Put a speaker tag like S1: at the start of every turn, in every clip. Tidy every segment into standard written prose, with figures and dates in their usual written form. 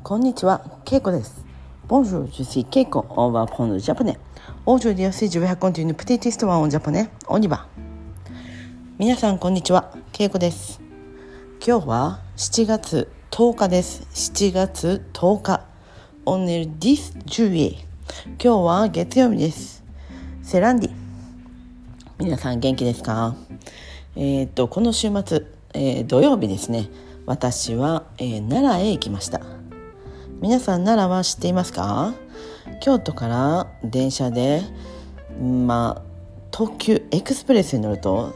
S1: こんにちは、ケイコです。Bonjour, je suis Keiko. On va apprendre le japonais. Aujourd'hui aussi, je vais raconter une petite histoire en japonais. On y va. 皆さん、こんにちは、ケイコです。今日は7月10日です。7月10日。On est le 10 juillet. 今日は月曜日です。セランディ。皆さん元気ですか？この週末、土曜日ですね。私は、奈良へ行きました。皆さん奈良は知っていますか？京都から電車で、特急エクスプレスに乗ると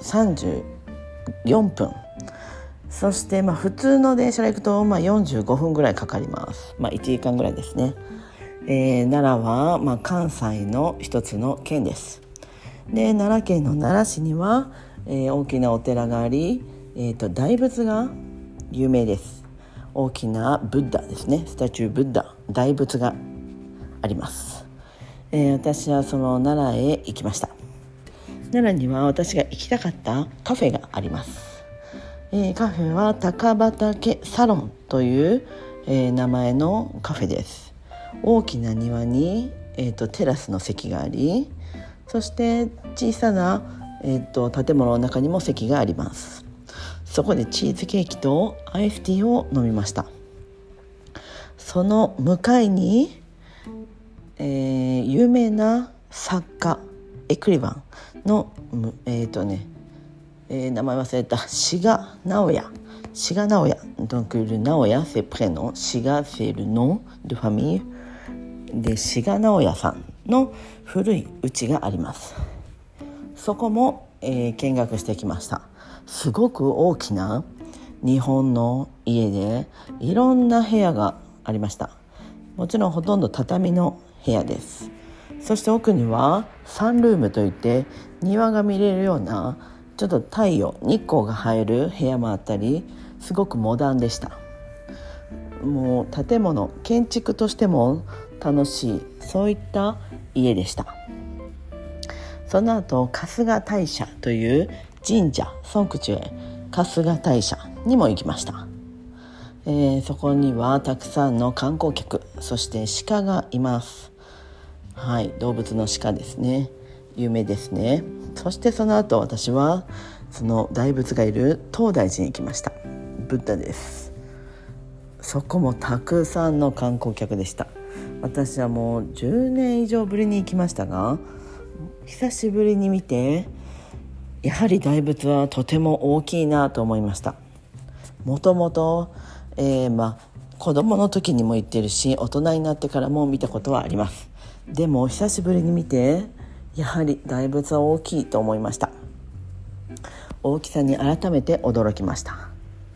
S1: 34分、そして、普通の電車で行くと、45分ぐらいかかります。1時間ぐらいですね。奈良は、関西の一つの県です。で、奈良県の奈良市には、大きなお寺があり、大仏が有名です。大きなブッダですね、スタチューブッダ、大仏があります。私はその奈良へ行きました。奈良には私が行きたかったカフェがあります。カフェは高畑サロンという、名前のカフェです。大きな庭に、テラスの席があり、そして小さな、建物の中にも席があります。そこでチーズケーキとアイスティーを飲みました。その向かいに、有名な作家エクリバンの、名前忘れた、志賀直哉。Donc le Naoya c'est prénom, Shiga c'est le nom de famille で、志賀直哉さんの古い家があります。そこも、見学してきました。すごく大きな日本の家でいろんな部屋がありました。もちろんほとんど畳の部屋です。そして奥にはサンルームといって庭が見れるようなちょっと太陽日光が入る部屋もあったり、すごくモダンでした。もう建物建築としても楽しい、そういった家でした。その後春日大社という神社ソンクチュエ春日大社にも行きました。そこにはたくさんの観光客、そして鹿がいます。はい、動物の鹿ですね、有名ですね。そしてその後私はその大仏がいる東大寺に行きました。ブッダです。そこもたくさんの観光客でした。私はもう10年以上ぶりに行きましたが、久しぶりに見てやはり大仏はとても大きいなと思いました。もともと子供の時にも行ってるし、大人になってからも見たことはあります。でも久しぶりに見てやはり大仏は大きいと思いました。大きさに改めて驚きました。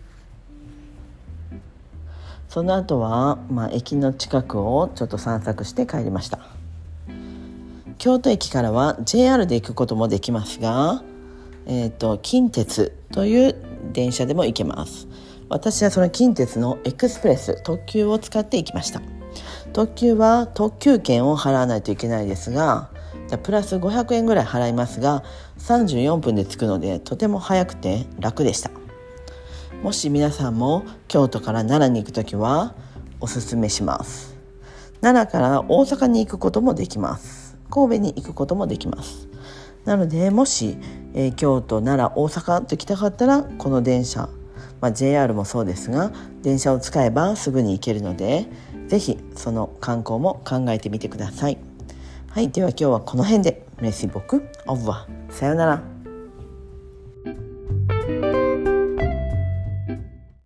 S1: その後は、駅の近くをちょっと散策して帰りました。京都駅からは JR で行くこともできますが、近鉄という電車でも行けます。私はその近鉄のエクスプレス特急を使って行きました。特急は特急券を払わないといけないですが、プラス500円ぐらい払いますが34分で着くのでとても早くて楽でした。もし皆さんも京都から奈良に行くときはおすすめします。奈良から大阪に行くこともできます。神戸に行くこともできます。なのでもし、京都、奈良、大阪と行きたかったらこの電車、JR もそうですが電車を使えばすぐに行けるので、ぜひその観光も考えてみてください。はい、では今日はこの辺で。Merci beaucoup. Au revoir. さよなら。